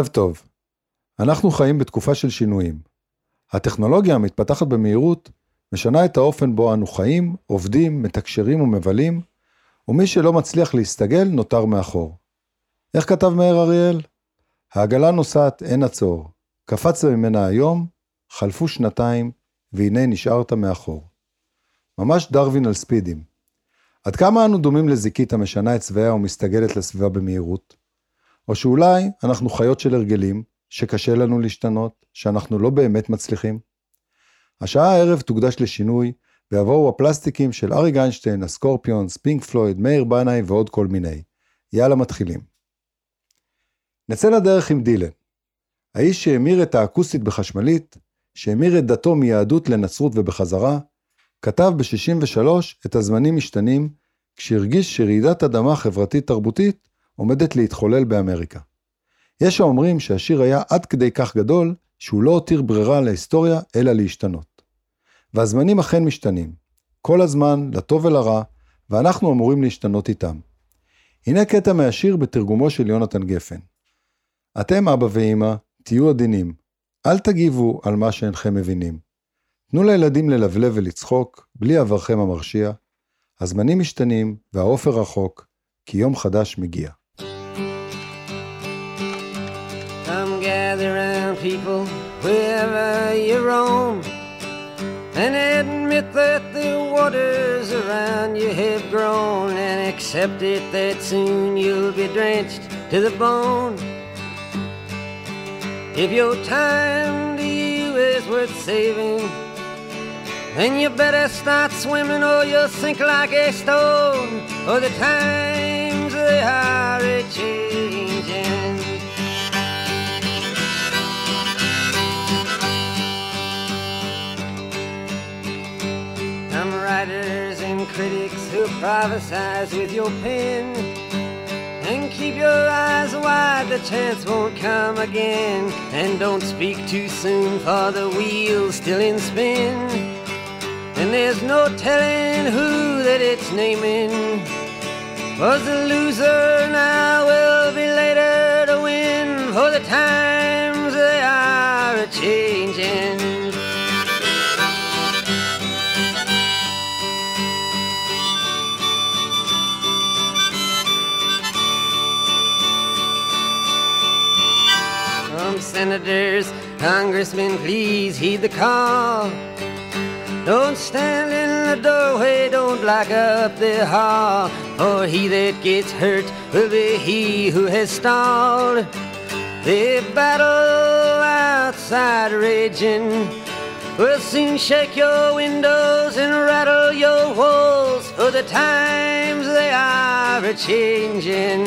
טוב. אנחנו חיים בתקופה של שינויים. הטכנולוגיה המתפתחת במהירות משנה את האופן בו אנו חיים, עובדים, מתקשרים ומבלים, ומי שלא מצליח להסתגל נותר מאחור. איך כתב מאיר אריאל? העגלה נוסעת אין עצור. קפצת ממנה היום, חלפו שנתיים, והנה נשארת מאחור. ממש דרווין על ספידים. עד כמה אנו דומים לזיקית המשנה את צבעיה ומסתגלת לסביבה במהירות? או שאולי אנחנו חיות של הרגלים, שקשה לנו להשתנות, שאנחנו לא באמת מצליחים? השעה הערב תוקדש לשינוי, ויבואו הפלסטיקים של אריק איינשטיין, הסקורפיונס, פינק פלויד, מאיר בנאי ועוד כל מיני. יאללה מתחילים. נצא לדרך עם דילן. האיש שהמיר את האקוסטית בחשמלית, שהמיר את דתו מיהדות לנצרות ובחזרה, כתב ב-63 את הזמנים משתנים, כשהרגיש שרעידת אדמה חברתית תרבותית עומדת להתחולל באמריקה. יש האומרים שהשיר היה עד כדי כך גדול, שהוא לא הותיר ברירה להיסטוריה, אלא להשתנות. והזמנים אכן משתנים, כל הזמן, לטוב ולרע, ואנחנו אמורים להשתנות איתם. הנה קטע מהשיר בתרגומו של יונתן גפן. אתם אבא ואמא, תהיו עדינים, אל תגיבו על מה שאינכם מבינים. תנו לילדים ללבלב ולצחוק, בלי עברכם המרשיע. הזמנים משתנים והאופר רחוק, כי יום חדש מגיע. Come gather round people wherever you roam, and admit that the waters around you have grown, and accept it that soon you'll be drenched to the bone. If your time to you is worth saving, then you better start swimming or you'll sink like a stone, for the times they are a-changing. Some writers and critics who prophesize with your pen, and keep your eyes wide, the chance won't come again. And don't speak too soon, for the wheel's still in spin, and there's no telling who that it's naming. Was the loser now will be later to win, for the times they are a-changing. Senators, congressmen, please heed the call. Don't stand in the doorway, don't block up the hall, for he that gets hurt will be he who has stalled. The battle outside raging will soon shake your windows and rattle your walls, for the times they are a-changing.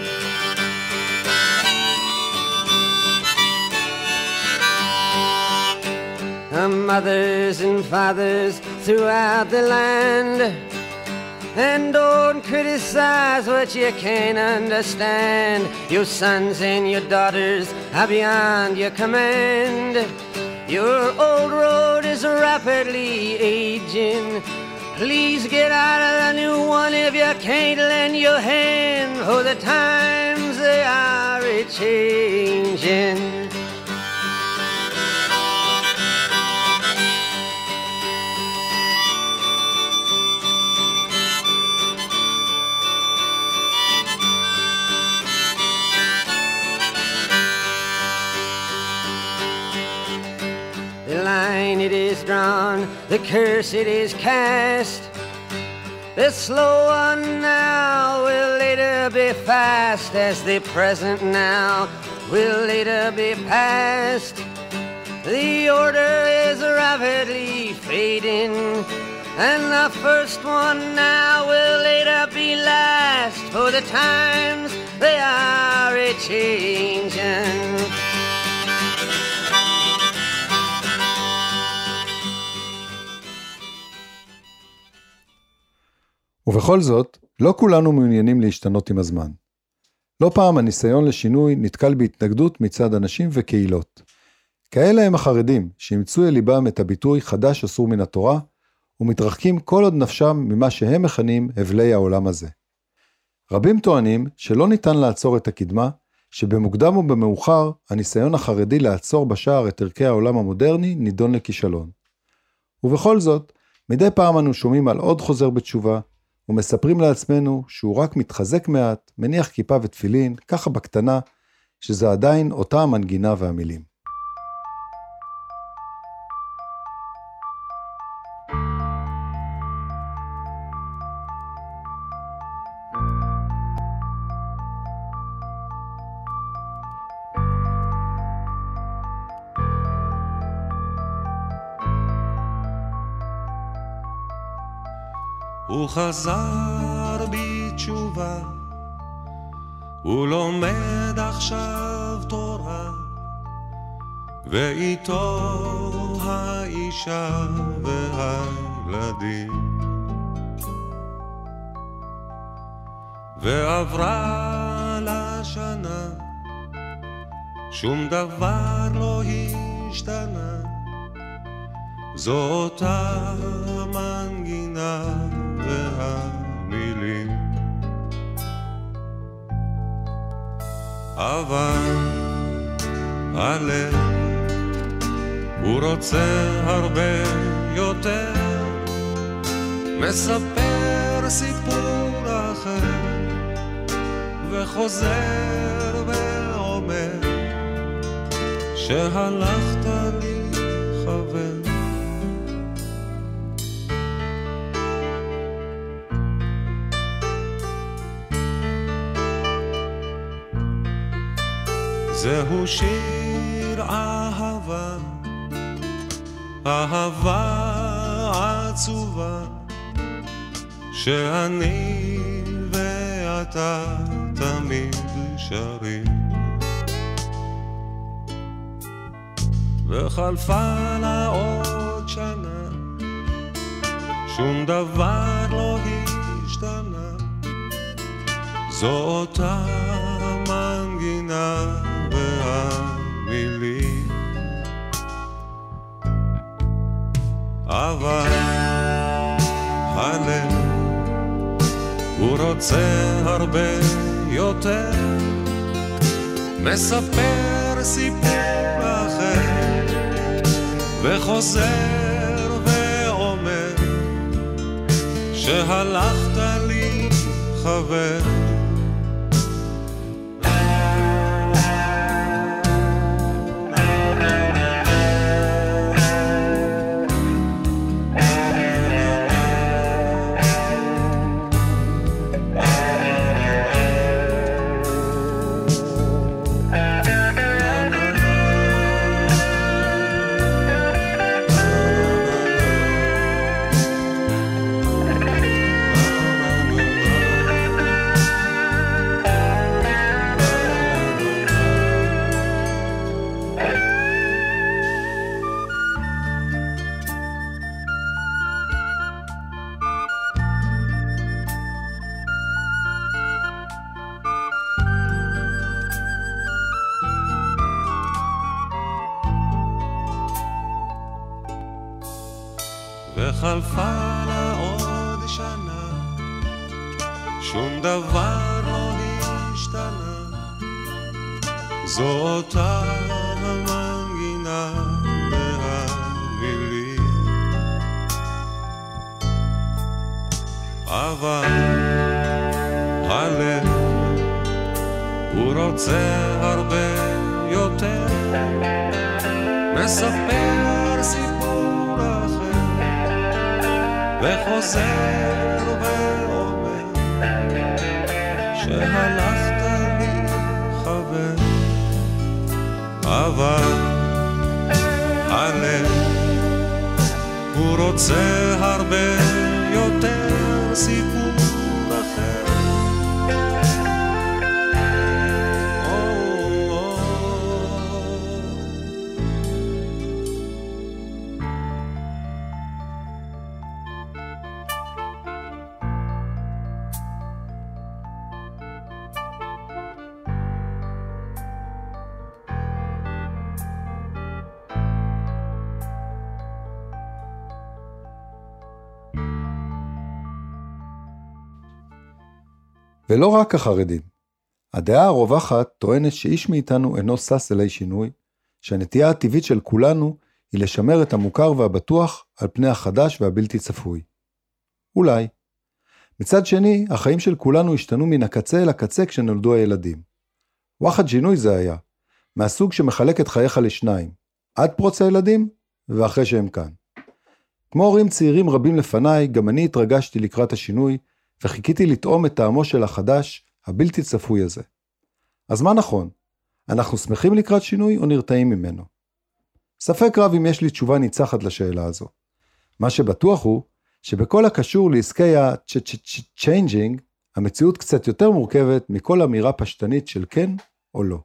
Mothers and fathers throughout the land, and don't criticize what you can't understand. Your sons and your daughters are beyond your command. Your old road is rapidly aging. Please get out of the new one if you can't lend your hand, for the times they are a-changing. It is drawn, the curse it is cast. The slow one now will later be fast, as the present now will later be past. The order is rapidly fading, and the first one now will later be last, for the times they are a-changing. ובכל זאת, לא כולנו מעוניינים להשתנות עם הזמן. לא פעם הניסיון לשינוי נתקל בהתנגדות מצד אנשים וקהילות. כאלה הם החרדים, שימצאו אל ליבם את הביטוי חדש אסור מן התורה, ומתרחקים כל עוד נפשם ממה שהם מכנים הבלי העולם הזה. רבים טוענים שלא ניתן לעצור את הקדמה, שבמוקדם או במאוחר הניסיון החרדי לעצור בשער את ערכי העולם המודרני נידון לכישלון. ובכל זאת, מדי פעם אנו שומעים על עוד חוזר בתשובה, ומספרים לעצמנו שהוא רק מתחזק מעט, מניח כיפה ותפילין, ככה בקטנה, שזה עדיין אותה המנגינה והמילים. הוא חזר בתשובה, הוא לומד עכשיו תורה, ואיתו האישה והילדים. ועברה לשנה, שום דבר לא השתנה, זו אותה מנגינה והמילים. אבל הלב הוא רוצה הרבה יותר, מספר סיפור אחר וחוזר ואומר שהלכת לי חבר. זהו שיר אהבה, אהבה עצובה, שאני ואתה תמיד שרים. וחלפה לה עוד שנה, שום דבר לא השתנה, זו אותה מנגינה והמילים. אבל הלב הוא רוצה הרבה יותר, מספר סיפור אחר וחוזר ואומר שהלכת לי חבר. וחלפה לה עוד שנה, שום דבר לא השתנה, זו אותה המנגינה והמילים. אבל הלב הוא רוצה הרבה יותר, מספר סיפור אחר וחוזר ואומר שהלכת לי חבר. אבל הלב הוא רוצה הרבה יותר, סיפור אחר. ולא רק החרדים. הדעה הרווחת טוענת שאיש מאיתנו אינו סס אלי שינוי, שהנטייה הטבעית של כולנו היא לשמר את המוכר והבטוח על פני החדש והבלתי צפוי. אולי. מצד שני, החיים של כולנו השתנו מן הקצה אל הקצה כשנולדו הילדים. וואחד שינוי זה היה, מהסוג שמחלק את חייך לשניים, עד פרוץ הילדים ואחרי שהם כאן. כמו הורים צעירים רבים לפניי, גם אני התרגשתי לקראת השינוי, וחיכיתי לטעום את טעמו של החדש, הבלתי צפוי הזה. אז מה נכון? אנחנו שמחים לקראת שינוי או נרתעים ממנו? ספק רב אם יש לי תשובה ניצחת לשאלה הזו. מה שבטוח הוא, שבכל הקשור לעסקי ה-changing, המציאות קצת יותר מורכבת מכל אמירה פשטנית של כן או לא.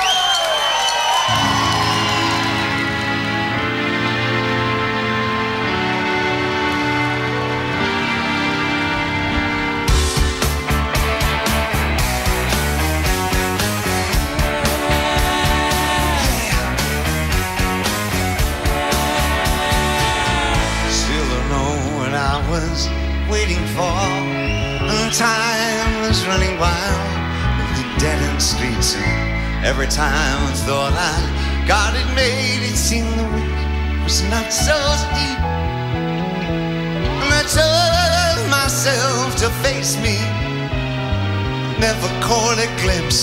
Waiting for and time was running wild with the dead-end streets, and every time I thought I got it made, it seemed the week was not so steep. And I told myself to face me, never caught a glimpse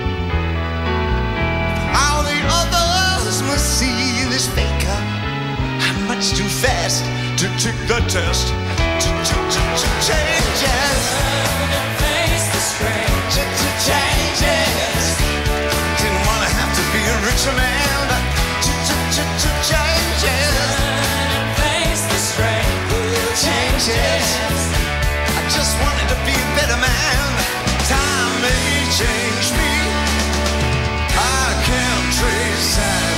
how the others must see this faker. I'm much too fast to take the test. Changes. Face the strange. Changes. Didn't want to have to be a richer man, but changes. Face the strange. Changes. I just wanted to be a better man. Time may change me. I can't trace time.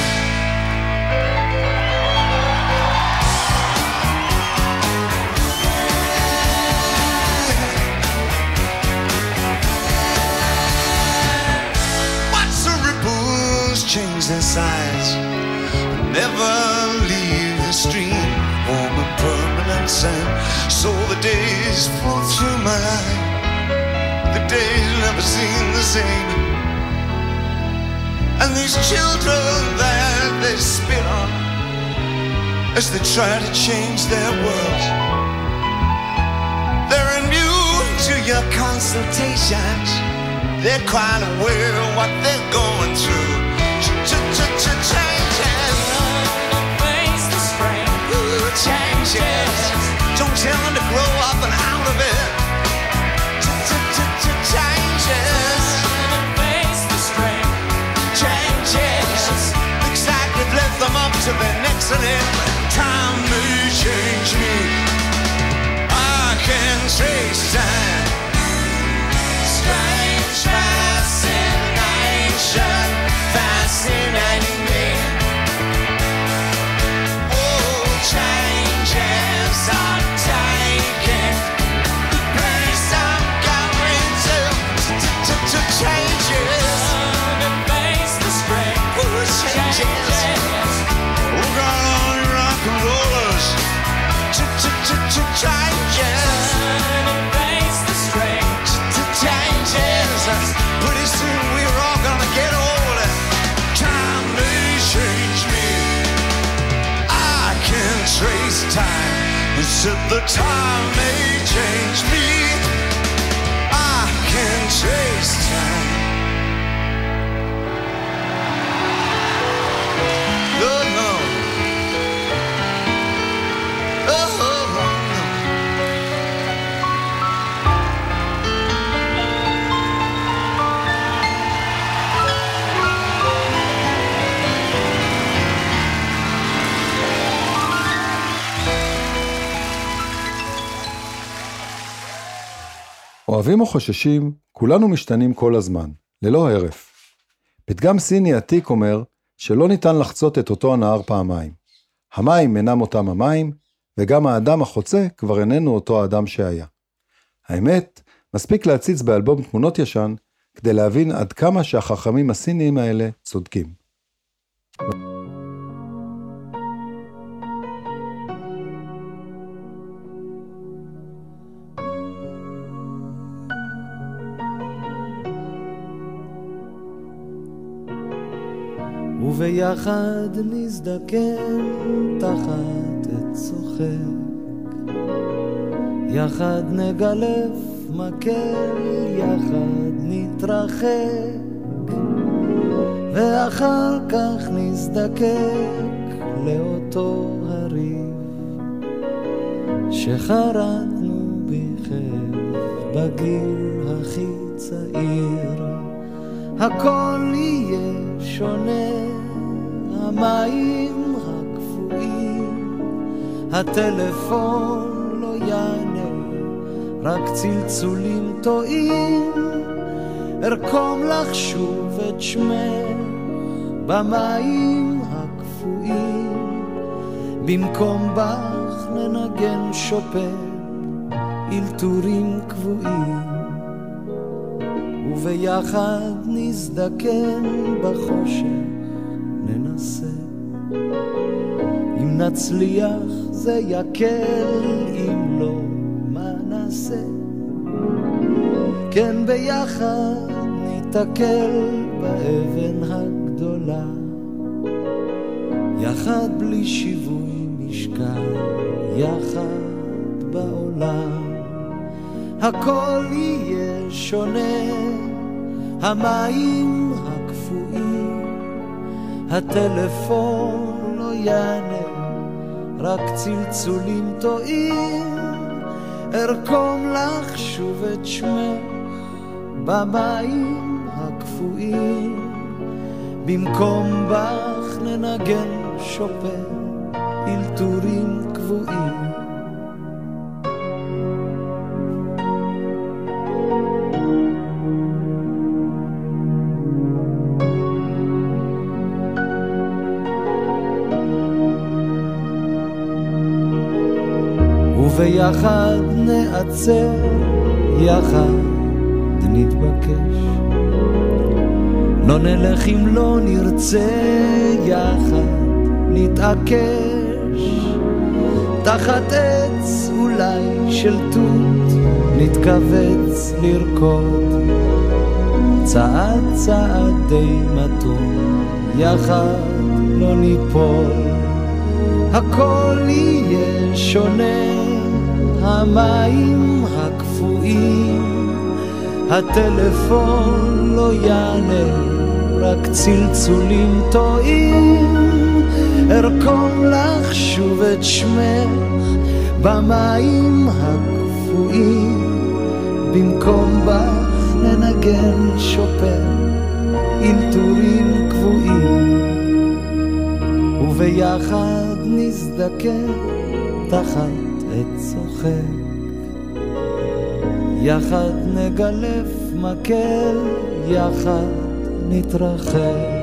Change their size, but never leave the stream, warm and permanent sand. So the days fall through my life, the days never seem the same. And these children that they spit on as they try to change their world, they're immune to your consultations. They're quite aware of what they're going through. Changes. Face the spring. Changes. Don't tell them to grow up and out of it. Changes. Face the spring. Changes. Looks like they've left them up to their necks in it. Time may change me. I can trace time. Strange fascination. Fascinating me. Oh, changes are taking the place I'm going to. Changes. Face the spring. Changes. Oh, God, all you rock and rollers. Changes. Face the spring. Changes. Pretty soon we're all gonna get old. Time may change me. I can trace time. Who said the time may change me? I can trace time. Oh no. Oh no. אוהבים או חוששים, כולנו משתנים כל הזמן, ללא הרף. פתגם סיני עתיק אומר שלא ניתן לחצות את אותו הנהר פעמיים. המים אינם אותם המים, וגם האדם החוצה כבר איננו אותו האדם שהיה. האמת, מספיק להציץ באלבום תמונות ישן, כדי להבין עד כמה שהחכמים הסיניים האלה צודקים. וביחד נזדקן תחת עץ צוחק, יחד נגלף מקל, יחד נתרחק, ואחר כך נזדקק לאותו הריב שחרטנו בכיף בגיל הכי צעיר. הכל יהיה שונה, המים הקפואים, הטלפון לא יענה, רק צלצולים טועים. ארקום לך שוב את שמך במים הקפואים, במקום בך ננגן שופן אלתורים קבועים, וביחד נזדקן בחושך ננסה. אם נצליח זה יקל, אם לא מה נעשה? כן ביחד ניתקל באבן הגדולה, יחד בלי שיווי משקל, יחד בעולם. הכל יהיה שונה, המים הקפואים, הטלפון לא יענה, רק צלצולים טועים. ארקום לך שוב את שמך במים הקפואים, במקום בך ננגן שופן אלתורים קבועים. וביחד נעצר, יחד נתבקש, לא נלך אם לא נרצה, יחד נתעקש. תחת עץ אולי של תות נתכווץ לרקוד, צעד צעד די מתון, יחד לא ניפול. הכל יהיה שונה, המים הקפואים, הטלפון לא יענה, רק צלצולים טועים. ארקום לך שוב את שמך במים הקפואים, במקום בך ננגן שופן אלתורים קבועים, וביחד נזדקן תחת עץ צוחק, יחד נגלף מקל, יחד נתרחק.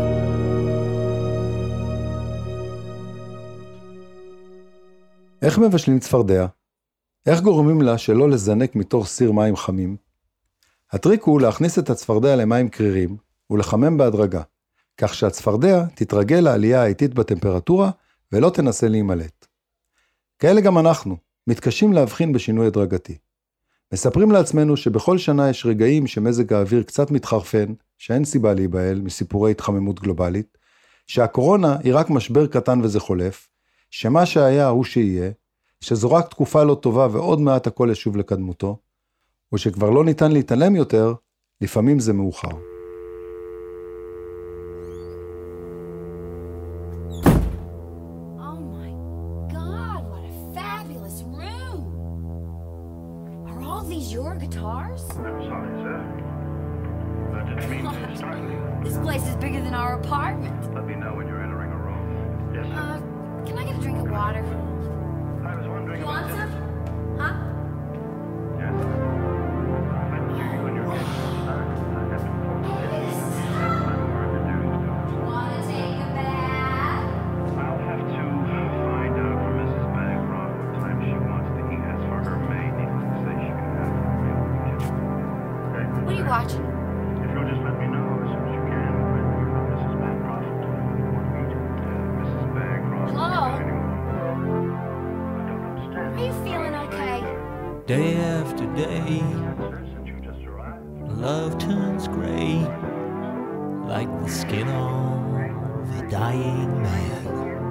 איך מבשלים צפרדע? איך גורמים לה שלא לזנק מתוך סיר מים חמים? הטריק הוא להכניס את הצפרדע למים קרירים ולחמם בהדרגה, כך שהצפרדע תתרגל לעלייה האיטית בטמפרטורה ולא תנסה להימלט. כאלה גם אנחנו, מתקשים להבחין בשינוי הדרגתי. מספרים לעצמנו שבכל שנה יש רגעים שמזג האוויר קצת מתחרפן, שאין סיבה להיבהל מסיפורי התחממות גלובלית, שהקורונה היא רק משבר קטן וזה חולף, שמה שהיה הוא שיהיה, שזו רק תקופה לא טובה ועוד מעט הכל ישוב לקדמותו, ושכבר לא ניתן להתעלם יותר, לפעמים זה מאוחר. Your guitars? I'm sorry, sir. I didn't mean to startle you. This place is bigger than our apartment. Let me know when you're entering a room. Yes, sir. Can I get a drink of water? I was wondering You about want some? Huh? Yes. I'm due when you're getting started. I have to inform you. I'm introduced to. Want to take a bath? I'll have to find out from Mrs. Bancroft what time she wants to eat. As for her maid, needless to say, she can have her meal in the kitchen. Okay? What are you watching? If you'll just let me know as soon as you can when Mrs. Bancroft want to meet you. Mrs. Bancroft. Hello? I don't understand. Are you feeling okay? Day after day, Sir, since you just arrived. love turns gray, like the skin of dying man.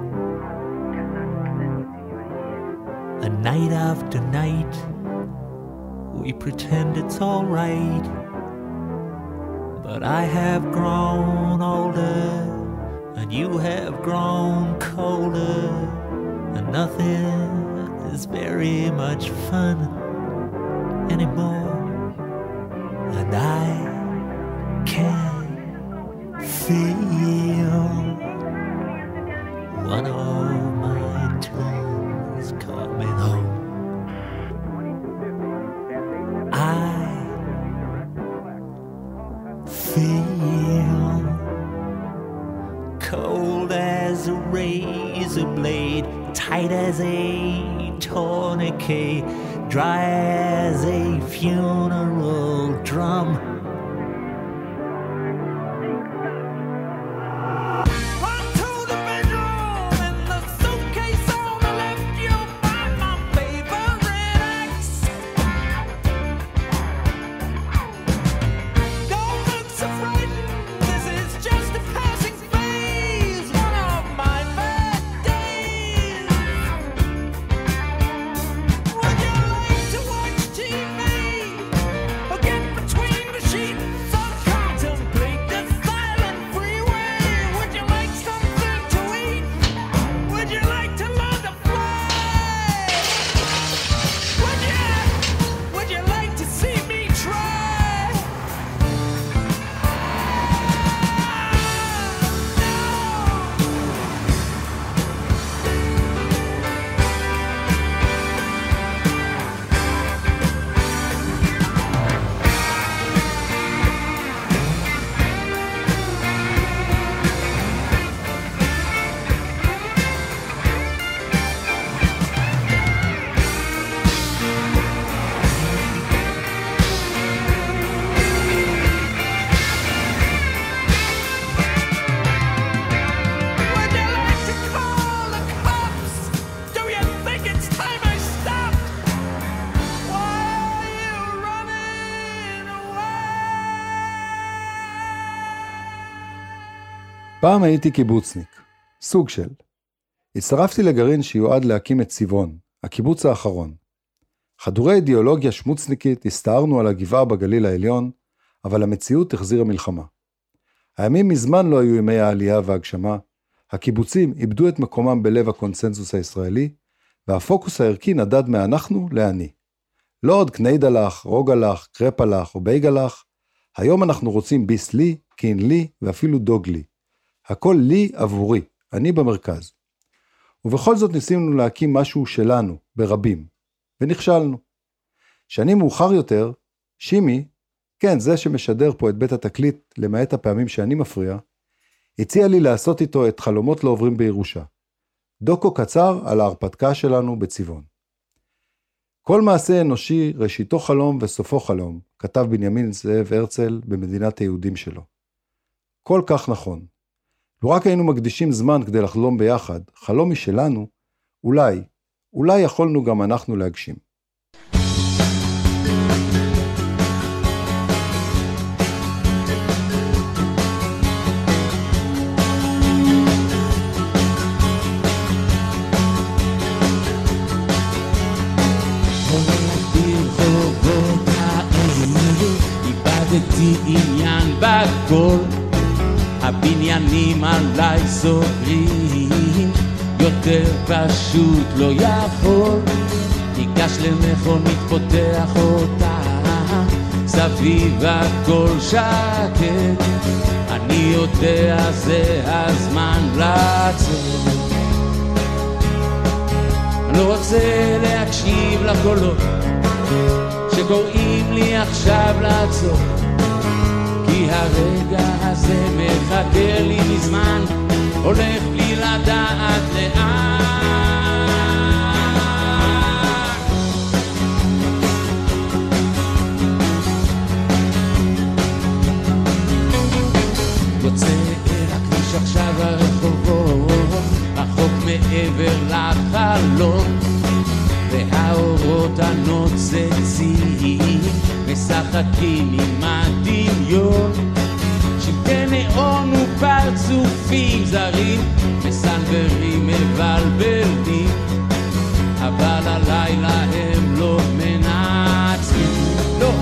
And night after night, we pretend it's all right. But I have grown older, and you have grown colder, and nothing is very much fun anymore. And I can feel one of my twins coming home. I feel cold as a razor blade, tight as a tourniquet, dry as a funeral drum. פעם הייתי קיבוצניק, סוג של. הצטרפתי לגרעין שיועד להקים את צבעון, הקיבוץ האחרון. חדורי אידיאולוגיה שמוצניקית הסתערנו על הגבעה בגליל העליון, אבל המציאות החזירה מלחמה. הימים מזמן לא היו ימי העלייה והגשמה, הקיבוצים איבדו את מקומם בלב הקונסנזוס הישראלי, והפוקוס הערכי נדד מאנחנו לאני. לא עוד קניידלח, רוגלח, קרפלח או בייגלח, היום אנחנו רוצים ביס לי, קין לי ואפילו דוג לי. הכל לי עבורי, אני במרכז. ובכל זאת ניסינו להקים משהו שלנו, ברבים, ונכשלנו. שנים מאוחר יותר, שימי, כן, זה שמשדר פה את בית התקליט, למעט הפעמים שאני מפריע, הציע לי לעשות איתו את חלומות לא עוברים בירושה. דוקו קצר על ההרפתקה שלנו בצבעון. כל מעשה אנושי ראשיתו חלום וסופו חלום, כתב בנימין זאב הרצל במדינת היהודים שלו. כל כך נכון. לו רק היינו מקדישים זמן כדי לחלום ביחד, חלום משלנו, אולי יכולנו גם אנחנו להגשים. איבדתי עניין בכל, הבניינים עליי סוגרים, יותר פשוט לא יכול. ניגש למכונית פותח אותה, סביב הכל שקט, אני יודע זה הזמן לעצור. אני לא רוצה להקשיב לקולות שקוראים לי עכשיו לעצור, כי הרגע הזה מחכה לי מזמן, הולך בלי לדעת לאן. יוצא אל הכביש עכשיו הרחובות, רחוק מעבר לחלום, והאורות הנוצצים משחקים עם הדמיון, ונאון ופרצופים זרים מסנברים מבלבלים, אבל הלילה הם לא מנצחים. לא,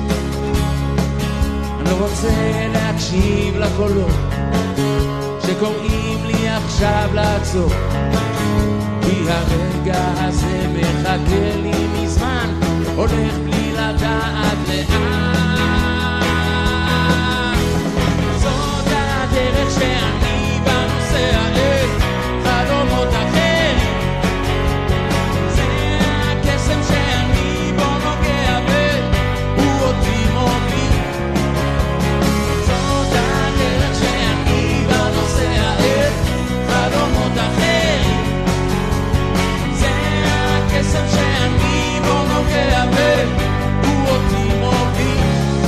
אני לא רוצה להקשיב לקולות שקוראים לי עכשיו לעצור, כי הרגע הזה מחכה לי מזמן, הולך בלי לדעת לאן. זאת הדרך שאני בנוסע אל חלומות אחרים, זה הקסם שאני בו נוגע והוא אותי מוביל. זאת הדרך שאני בנוסע אל חלומות אחרים, זה הקסם שאני בו נוגע והוא אותי מוביל.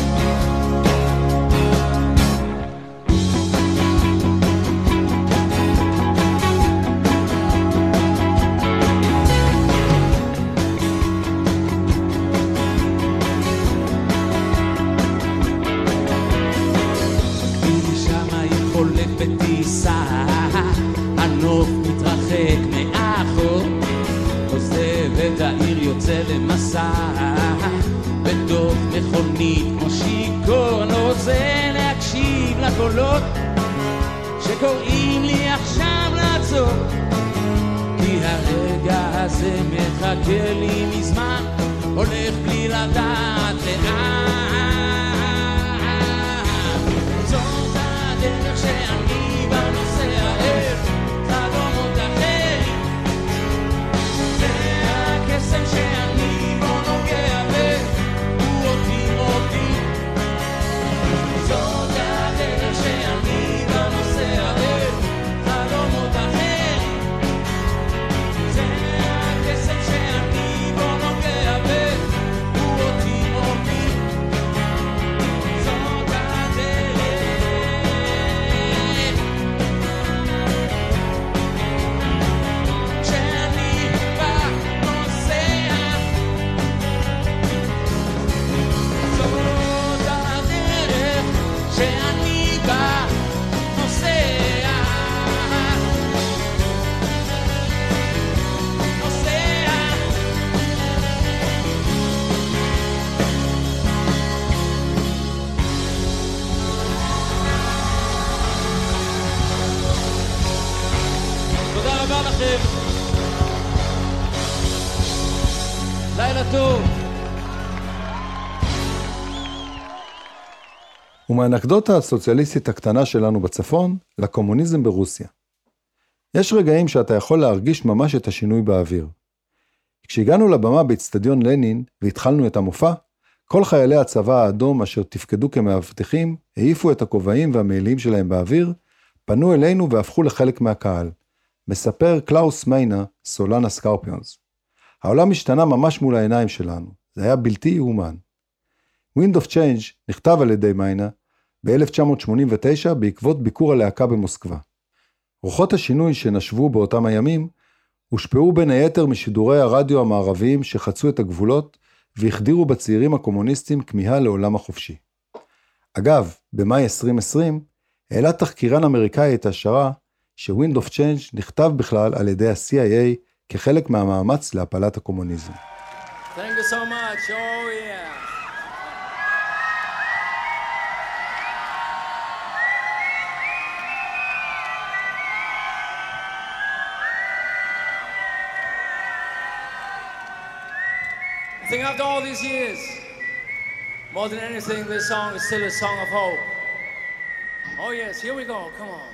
שמה היא חולף בטיסה, הנוף מתרחק מאחור, עוזב את העיר יוצא למסע, בתוך מכונית כמו שיקור. אני לא רוצה להקשיב לקולות שקוראים לי עכשיו לעצור, כי הרגע הזה מחכה לי מזמן, הולך בלי לדעת לאן. זאת הדרך שאני בנוסע אל חלומות אחרים, זה הקסם שאני בו נוגע והוא אותי מוביל. זאת הדרך שאני בנוסע אל חלומות אחרים, זה הקסם שאני בו נוגע והוא אותי מוביל. זאת הדרך שאני בנוסע, זאת הדרך שאני בנוסע, תודה רבה לכם, לילה טוב. ומהאנקדוטה הסוציאליסטית הקטנה שלנו בצפון, לקומוניזם ברוסיה. יש רגעים שאתה יכול להרגיש ממש את השינוי באוויר. כשהגענו לבמה באצטדיון לנין והתחלנו את המופע, כל חיילי הצבא האדום אשר תפקדו כמאבטחים, העיפו את הכובעים והמעילים שלהם באוויר, פנו אלינו והפכו לחלק מהקהל. מספר קלאוס מיינה, סולן הסקורפיונס. העולם השתנה ממש מול העיניים שלנו, זה היה בלתי יאומן. Wind of Change נכתב על ידי מיינה ב-1989 בעקבות ביקור הלהקה במוסקבה. רוחות השינוי שנשבו באותם הימים הושפעו בין היתר משידורי הרדיו המערביים שחצו את הגבולות והחדירו בצעירים הקומוניסטים כמיהה לעולם החופשי. אגב, במאי 2020 העלה תחקירן אמריקאי את השערה ש-Wind of Change נכתב בכלל על ידי ה-CIA כחלק מהמאמץ להפלת הקומוניזם. Thank you so much. Oh yeah. I think after all these years, more than anything, this song is still a song of hope. Oh yes, here we go, come on.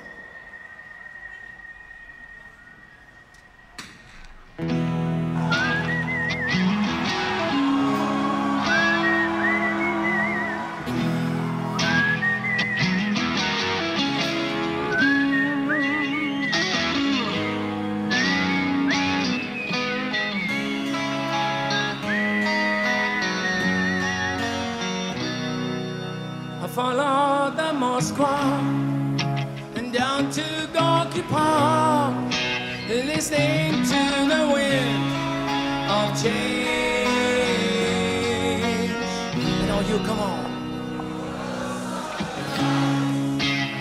Follow the Moskva and down to Gorky Park, listening to the wind of change. And all you, come on.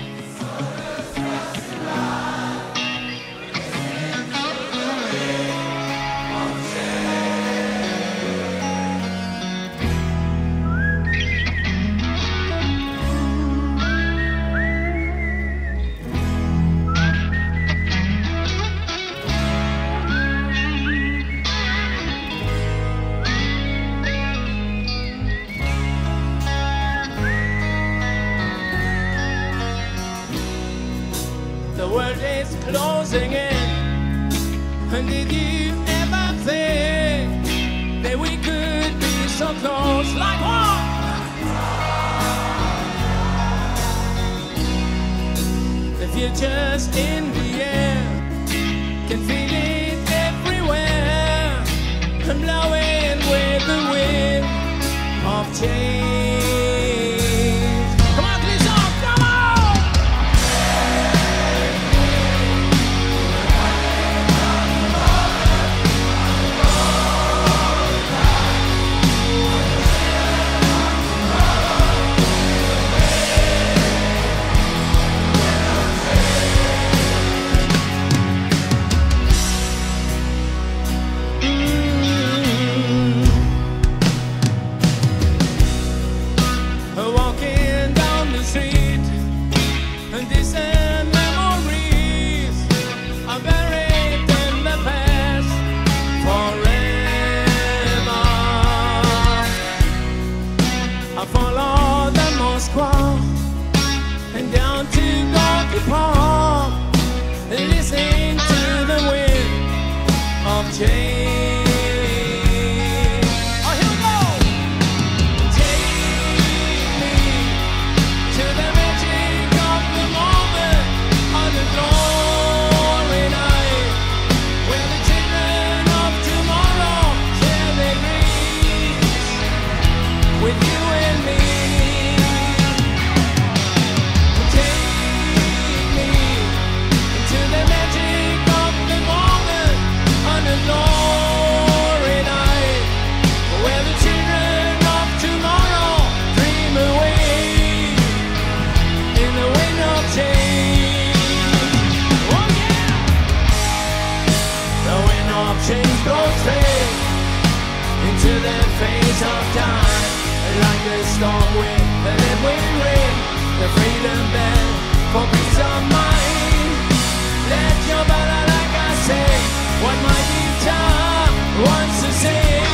singing. And did you ever think that we could be so close like what? The future's in the air, can feel it everywhere, I'm blowing with the wind of change. Come on, Clisson, come on! Walking down the street, and distant memories are buried in the past forever. I follow the Moscow and down to Gorky Park, listening to the wind of change. Change goes straight into the face of time, like a storm wind, and then we ring the freedom bell for peace of mind. Let your body, like I say, what my guitar wants to sing.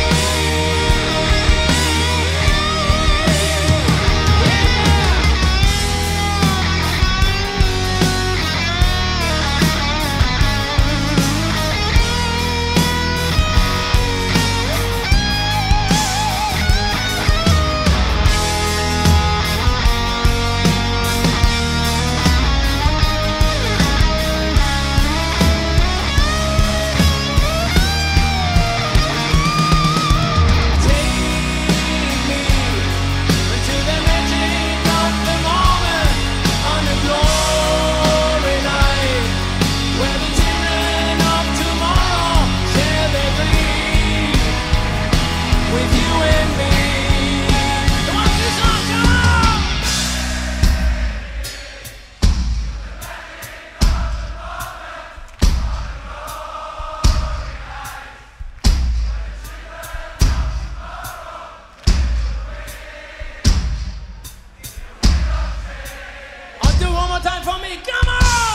Time for me, come on!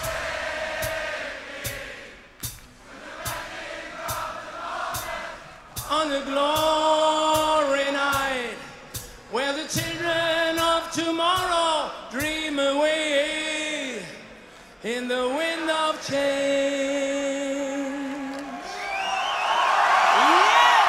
On the glory night, where the children of tomorrow dream away in the wind of change. Yes!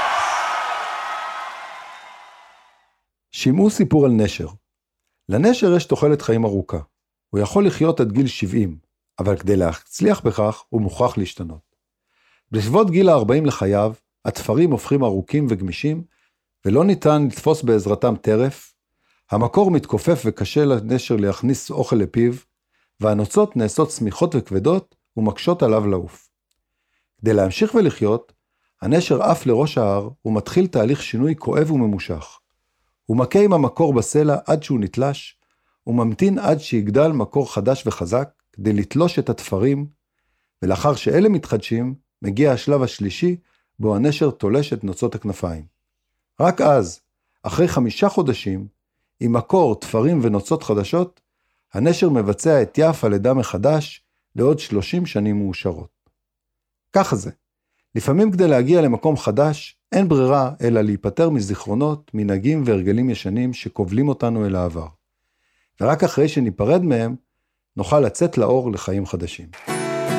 שמעו סיפור על נשר. לנשר יש תוחלת חיים ארוכה. הוא יכול לחיות עד גיל 70, אבל כדי להצליח בכך הוא מוכרח להשתנות. בסביבות גיל ה-40 לחייו, התפרים הופכים ארוכים וגמישים, ולא ניתן לתפוס בעזרתם טרף, המקור מתכופף וקשה לנשר להכניס אוכל לפיו, והנוצות נעשות סמיכות וכבדות ומקשות עליו לעוף. כדי להמשיך ולחיות, הנשר עף לראש ההר ומתחיל תהליך שינוי כואב וממושך. הוא מכה עם המקור בסלע עד שהוא נתלש, וממתין עד שיגדל מקור חדש וחזק כדי לתלוש את התפרים, ולאחר שאלה מתחדשים, מגיע השלב השלישי, בו הנשר תולש את נוצות הכנפיים. רק אז, אחרי 5 חודשים, עם מקור, תפרים ונוצות חדשות, הנשר מבצע את יף הלידה מחדש לעוד 30 שנים מאושרות. ככה זה. לפעמים כדי להגיע למקום חדש, אין ברירה אלא להיפטר מזיכרונות, מנהגים והרגלים ישנים שקובלים אותנו אל העבר. ורק אחרי שניפרד מהם, נוכל לצאת לאור לחיים חדשים.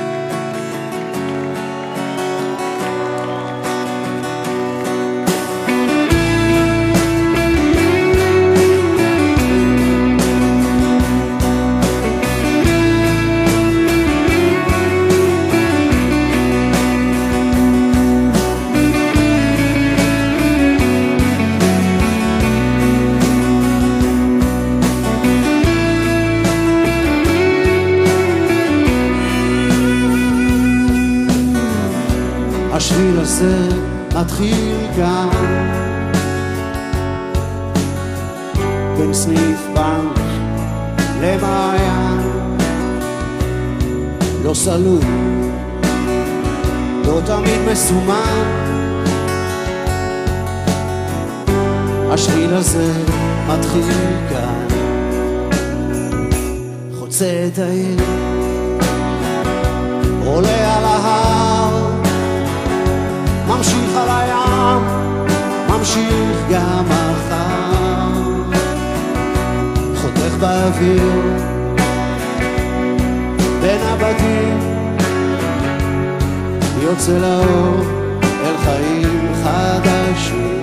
השביל הזה מתחיל כאן בין סניף בנק למעיין, לא סלול, לא תמיד מסומן. השביל הזה מתחיל כאן, חוצה את העיר, עולה על ההר, ממשיך על הים, ממשיך גם מחר, חותך באוויר בין הבתים, יוצא לאור אל חיים חדשים.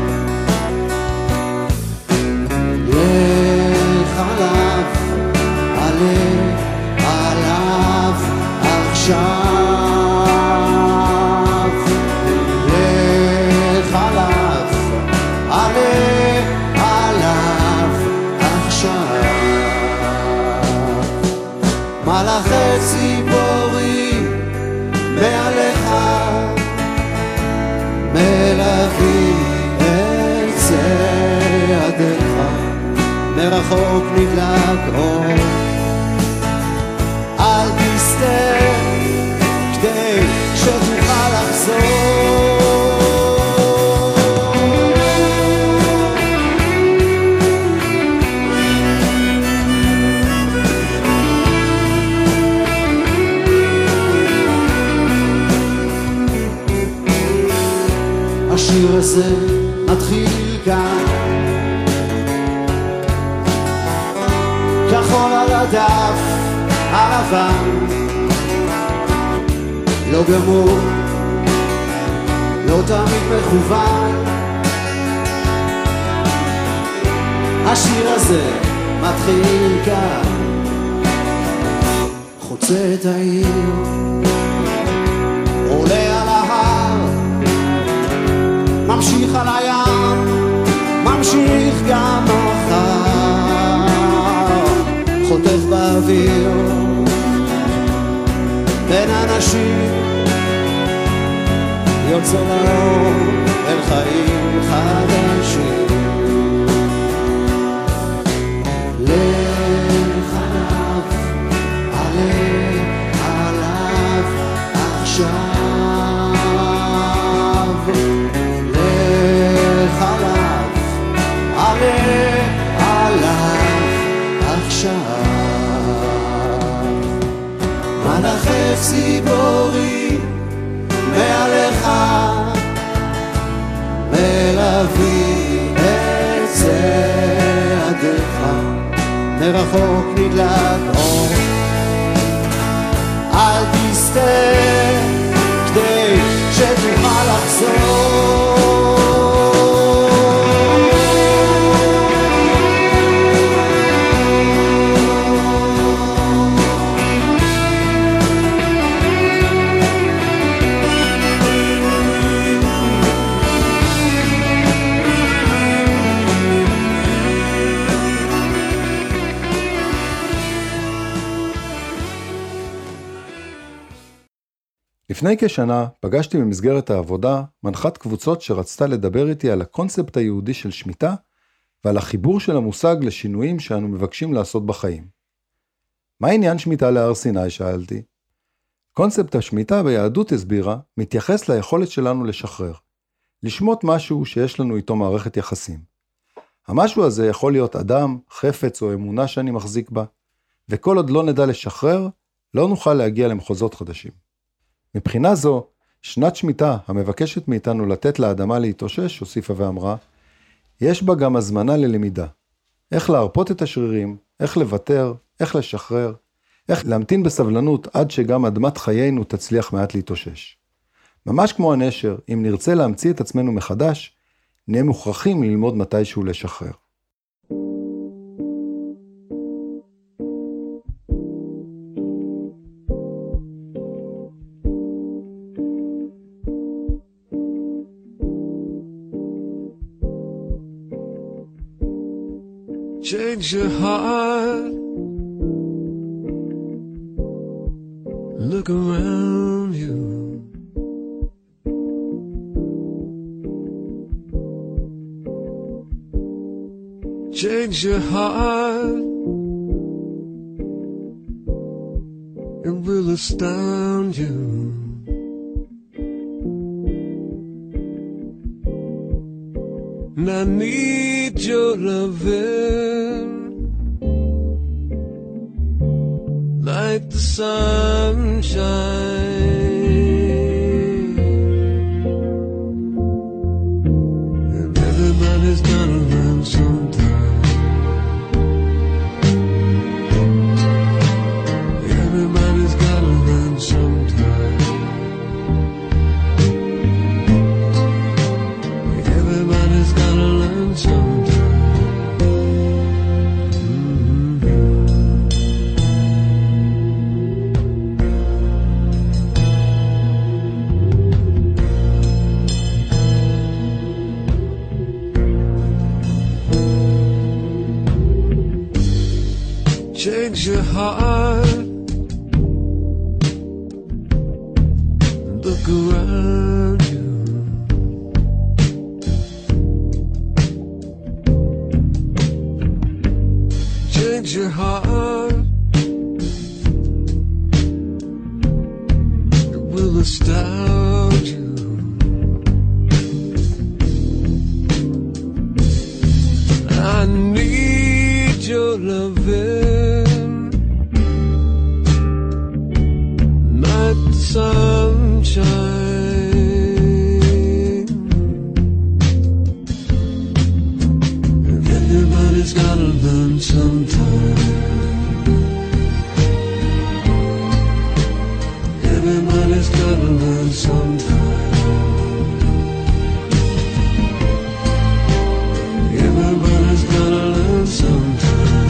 לך עליו, עלה עליו עכשיו, לך עליו, עלה עליו עכשיו. מלאכי ציפורים מעליך מלווים את צעדיך, מרחוק נדלק אור, אל תסתה כדי שתוכל לחזור. השיר הזה מתחיל כאן, כחול על הדף הלבן, לא גמור, לא תמיד מכוון. השיר הזה מתחיל כאן, חוצה את העיר, עולה על ההר, ממשיך על הים, ממשיך גם מחר, חוטף באוויר בין אנשים, יוצא לאור אל חיים חדשים. לך עליו, עלה עליו עכשיו, לך עליו, עלה עליו עכשיו. מלאכי ציפורים מעליך מלווים את צעדיך, מרחוק נדלק אור, אל תסתה כדי שתוכל לחזור. לפני כשנה פגשתי במסגרת העבודה מנחת קבוצות שרצתה לדבר איתי על הקונספט היהודי של שמיטה ועל החיבור של המושג לשינויים שאנו מבקשים לעשות בחיים. מה עניין שמיטה להר סיני? שאלתי. קונספט השמיטה ביהדות הסבירה מתייחס ליכולת שלנו לשחרר, לשמוט משהו שיש לנו איתו מערכת יחסים. המשהו הזה יכול להיות אדם, חפץ או אמונה שאני מחזיק בה, וכל עוד לא נדע לשחרר, לא נוכל להגיע למחוזות חדשים. מבחינה זו, שנת שמיטה המבקשת מאיתנו לתת לאדמה להתאושש, הוסיפה ואמרה, יש בה גם הזמנה ללמידה. איך להרפות את השרירים, איך לוותר, איך לשחרר, איך להמתין בסבלנות עד שגם אדמת חיינו תצליח מעט להתאושש. ממש כמו הנשר, אם נרצה להמציא את עצמנו מחדש, נהיה מוכרחים ללמוד מתישהו לשחרר. Change your heart. Look around you. change your heart. It will astound you. And I need your loving like the sunshine. And everybody's gonna learn sometime. Everybody's gotta learn sometime. Everybody's gotta learn sometime. Change your heart. Look around you. Change your heart. It will astound you. I need your loving like the sunshine. And everybody's gotta learn sometime. Everybody's gotta learn sometime. Everybody's gotta learn sometime.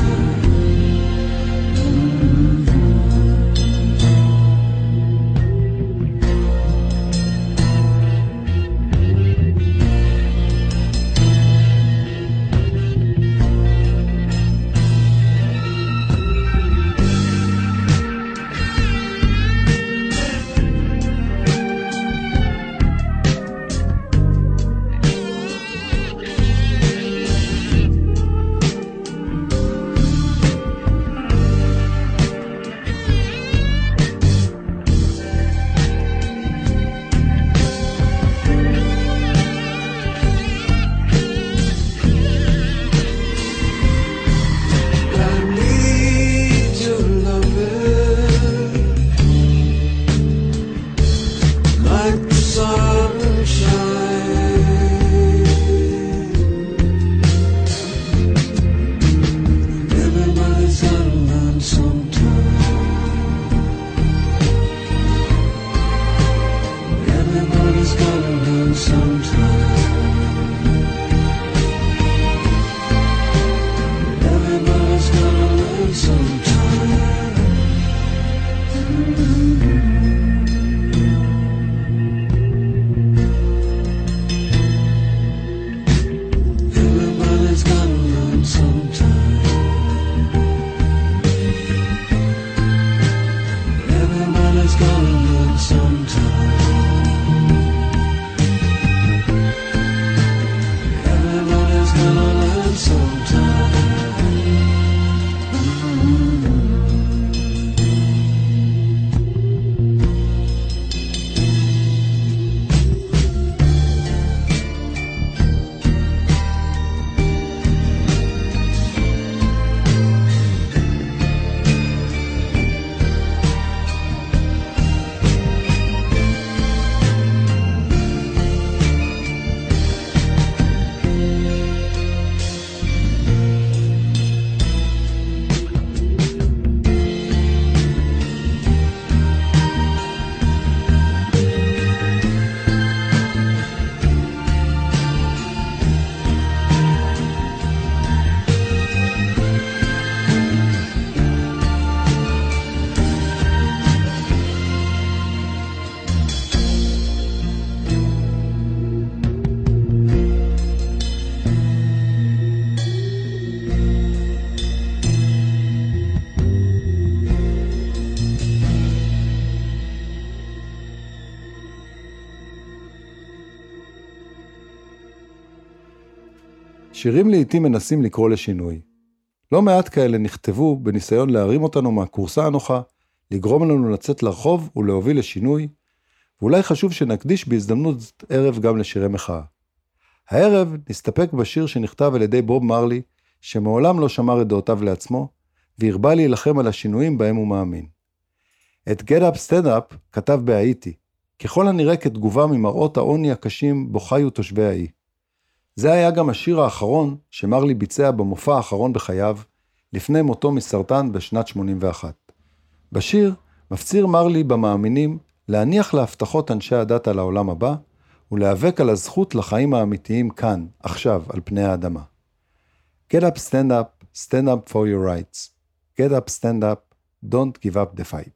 שירים לעתים מנסים לקרוא לשינוי. לא מעט כאלה נכתבו בניסיון להרים אותנו מהקורסה הנוחה, לגרום לנו לצאת לרחוב ולהוביל לשינוי, ואולי חשוב שנקדיש בהזדמנות ערב גם לשירי מחאה. הערב נסתפק בשיר שנכתב על ידי בוב מרלי, שמעולם לא שמר את דעותיו לעצמו, והרבה להילחם על השינויים בהם הוא מאמין. את Get Up Stand Up כתב בהאיטי, ככל הנראה כתגובה ממראות העוני הקשים בו חיו תושבי האי. זה היה גם השיר האחרון שמרלי ביצע במופע האחרון בחייו, לפני מותו מסרטן בשנת 81. בשיר מפציר מרלי במאמינים להניח להבטחות אנשי הדת על העולם הבא, ולהיאבק על הזכות לחיים האמיתיים כאן, עכשיו, על פני האדמה. Get up, stand up for your rights. Get up, stand up, don't give up the fight.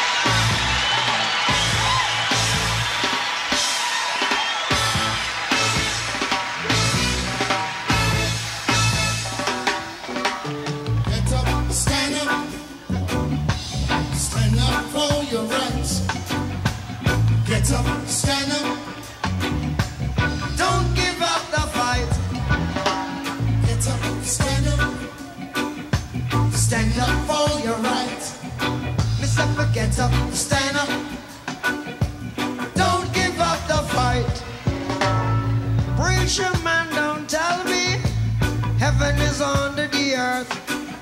Get up, stand up, don't give up the fight. Preacher man, don't tell me heaven is under the earth.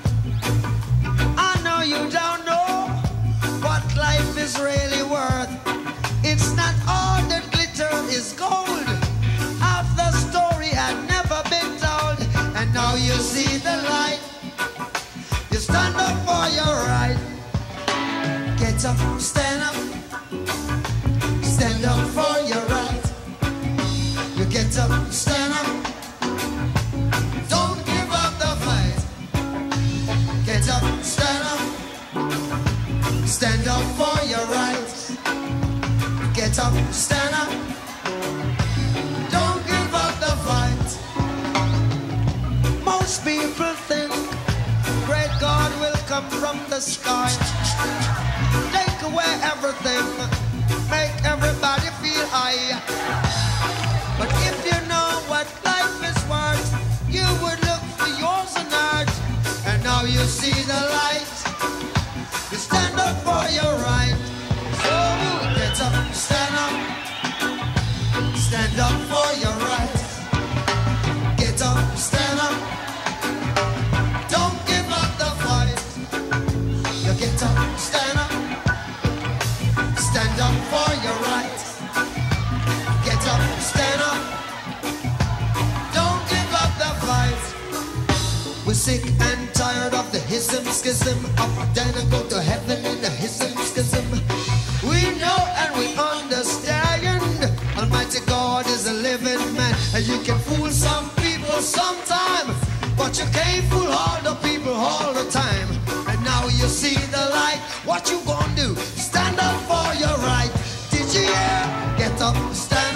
I know you don't know what life is really worth. It's not all that glitter is gold. Half the story had never been told, and now you see the light. You stand up for your right. Get up, stand up for your right. You get up, stand up, don't give up the fight. Get up, stand up for your right. Get up, stand up, don't give up the fight. Most people think great God will come from the sky, take away everything, make everybody feel high. But if you know what life is worth, you would look for yours on earth. And now you see the light, you stand up for your right. So get up, stand up for your right. Get up, stand up, don't give up the fight. You get up, stand up for your right. Get up, stand up, don't give up the fight. We're sick and tired of the hism, schism, up, down and go to heaven in the hism, schism. We know and we understand Almighty God is a living man, and you can fool some people sometime, but you can't fool all the people all the time. And now you see the light, what you gonna do? Stand up for your right. Did you hear? Get up, stand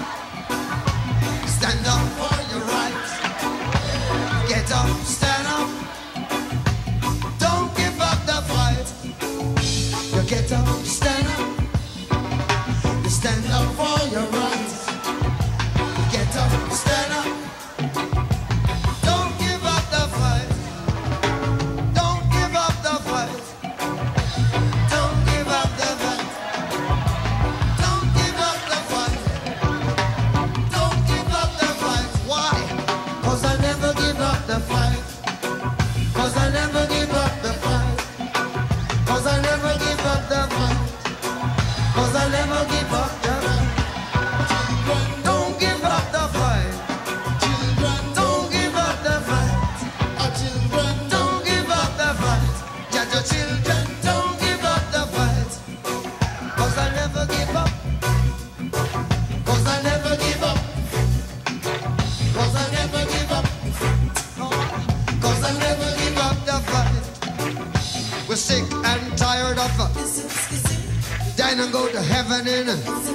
up for your right. Get up, stand up, don't give up the fight. You get up, stand up, you stand up for your right. Get up, stand up, don't give up the fight. Don't give up the fight. Don't give up the fight. Don't give up the fight. Don't give up the fight. Why? 'Cause I never give up the fight. 'Cause I never give up the fight. 'Cause I never give up the fight. 'Cause I never give up the fight. Don't give up the fight. Don't give up the fight. Don't give up the fight. Just your children, don't give up the fight. 'Cause I never give up. 'Cause I never give up. 'Cause I never give up. 'Cause I never give up the fight. We're sick and tired of dying and go to heaven in.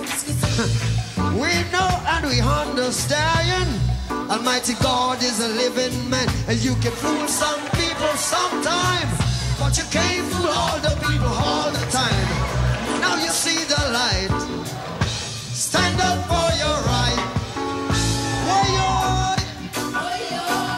We know and we understand Almighty God is a living man, and you can fool some people sometime, but you can't fool all the people all the time. Now you see the light. Stand up for your right. Why you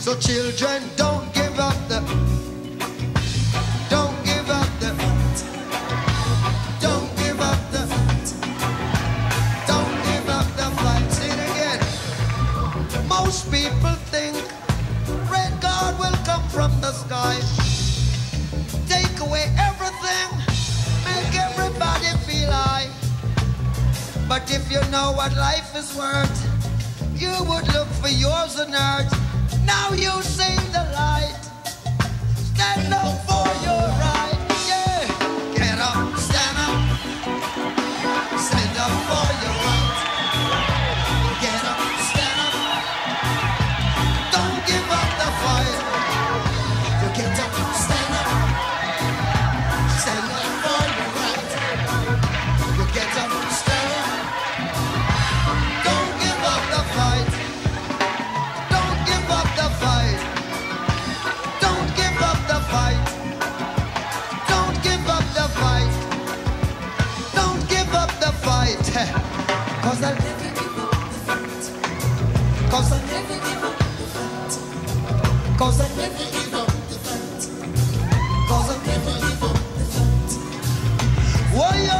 So children, don't give up the don't give up the don't give up the don't give up the fight. Say it again. Most people think red God will come from the sky, take away everything, make everybody feel high. But if you know what life is worth, you would look for yours on earth. Now you see the light. Stand up for your right. Yeah. Get up, stand up. Stand up for your right. Get up, stand up. Don't give up the fight. You get up, stand up. Stand up for your right. You get up, stand up. Don't give up the fight. Don't give up the fight. Don't give up the fight. Don't give up the fight. Don't give up the fight. 'Cause I'll never give up the fight. 'Cause I'll never give up the fight. 'Cause I'll never give up the fight. 'Cause I'll never give up the fight. Why yo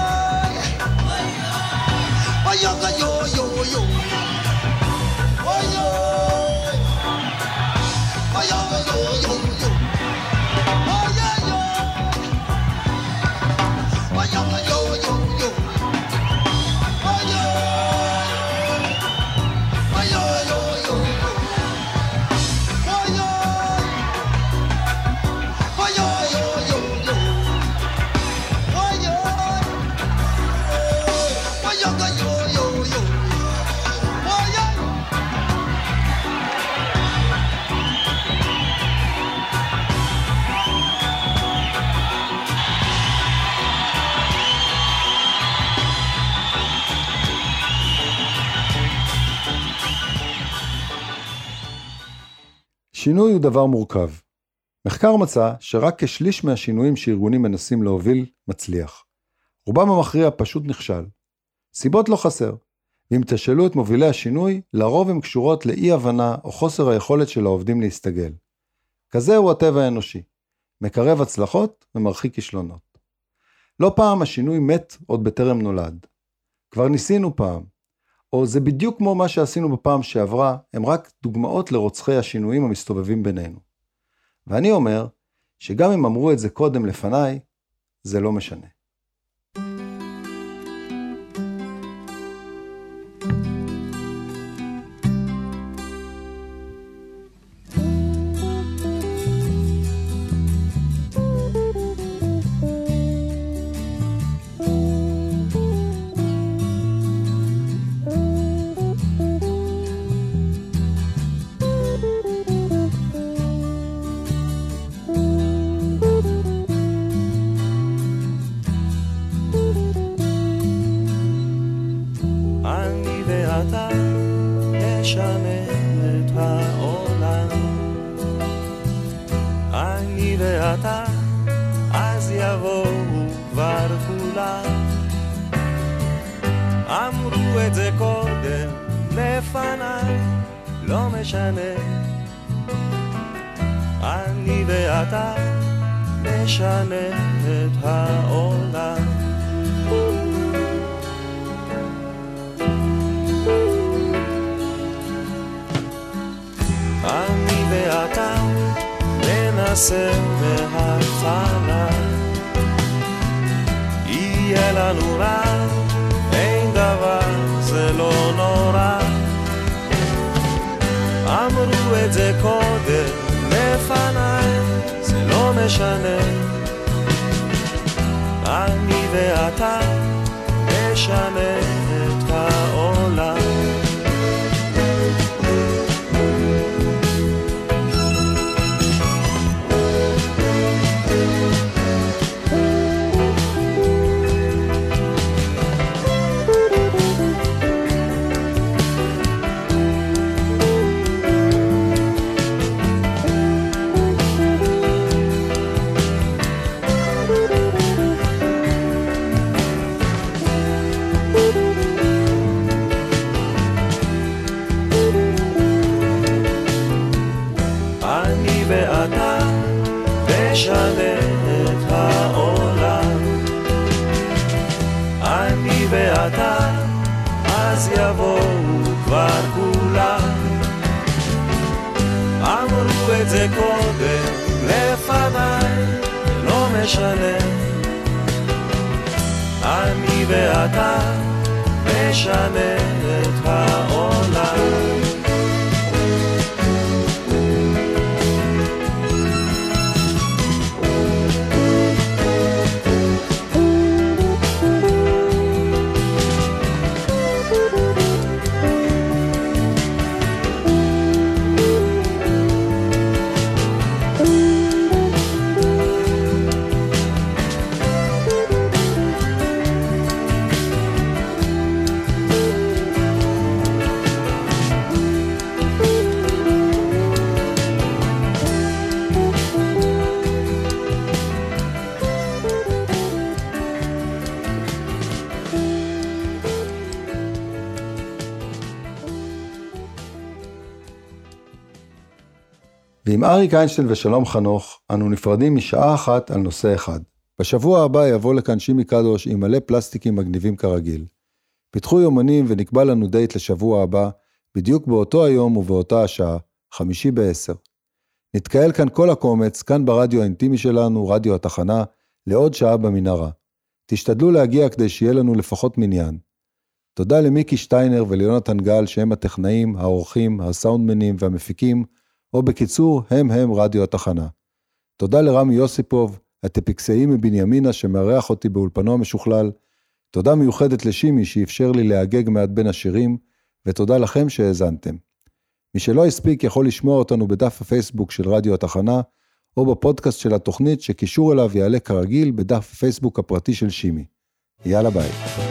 yo yo yo. Why yo yo yo yo yo. Why yo yo. Why yo yo yo yo. Why yo. Why yo yo yo yo. Why yo. Why yo yo yo yo. Why yo. Why yo yo yo yo. Why yo. שינוי הוא דבר מורכב. מחקר מצא שרק כשליש מהשינויים שארגונים מנסים להוביל מצליח. רובם המכריע פשוט נכשל. סיבות לא חסר, ואם תשאלו את מובילי השינוי, לרוב הן קשורות לאי הבנה או חוסר היכולת של העובדים להסתגל. כזה הוא הטבע האנושי, מקרב הצלחות ומרחיק כישלונות. לא פעם השינוי מת עוד בטרם נולד. כבר ניסינו פעם, או זה בדיוק כמו מה שעשינו בפעם שעברה, הם רק דוגמאות לרוצחי השינויים המסתובבים בינינו. ואני אומר, שגם אם אמרו את זה קודם לפניי, זה לא משנה. אתה נשנה את העולם. אני ואתה אז יבואו כבר כולם. אמרו את זה קודם לפניי, לא משנה. אני ואתה נשנה את העולם. אני ואתה ננסה מההתחלה. יהיה לנו רע, אין דבר, זה לא נורא. אמרו את זה קודם לפניי, זה לא משנה. אני ואתה נשנה את העולם. יבואו כבר כולם. אמרו את זה קודם לפניי, לא משנה, אני ואתה משנה את העולם. ועם אריק איינשטיין ושלום חנוך, אנו נפרדים משעה אחת על נושא אחד. בשבוע הבא יבוא לכאן שימי קדוש עם מלא פלסטיקים מגניבים כרגיל. פיתחו יומנים ונקבע לנו דייט לשבוע הבא, בדיוק באותו היום ובאותה השעה, 5:50. נתקהל כאן כל הקומץ, כאן ברדיו האינטימי שלנו, רדיו התחנה, לעוד שעה במנהרה. תשתדלו להגיע כדי שיהיה לנו לפחות מניין. תודה למיקי שטיינר וליונתן גל שהם הטכנאים, האורחים, הסאונדמנים והמפיקים, או בקיצור, הם רדיו התחנה. תודה לרמי יוסיפוב, הטפיקסאי מבנימינה שמארח אותי באולפנו המשוכלל. תודה מיוחדת לשימי שאפשר לי להגג מעט בין השירים, ותודה לכם שהאזנתם. מי שלא הספיק יכול לשמוע אותנו בדף הפייסבוק של רדיו התחנה, או בפודקאסט של התוכנית שקישור אליו יעלה כרגיל בדף הפייסבוק הפרטי של שימי. יאללה ביי.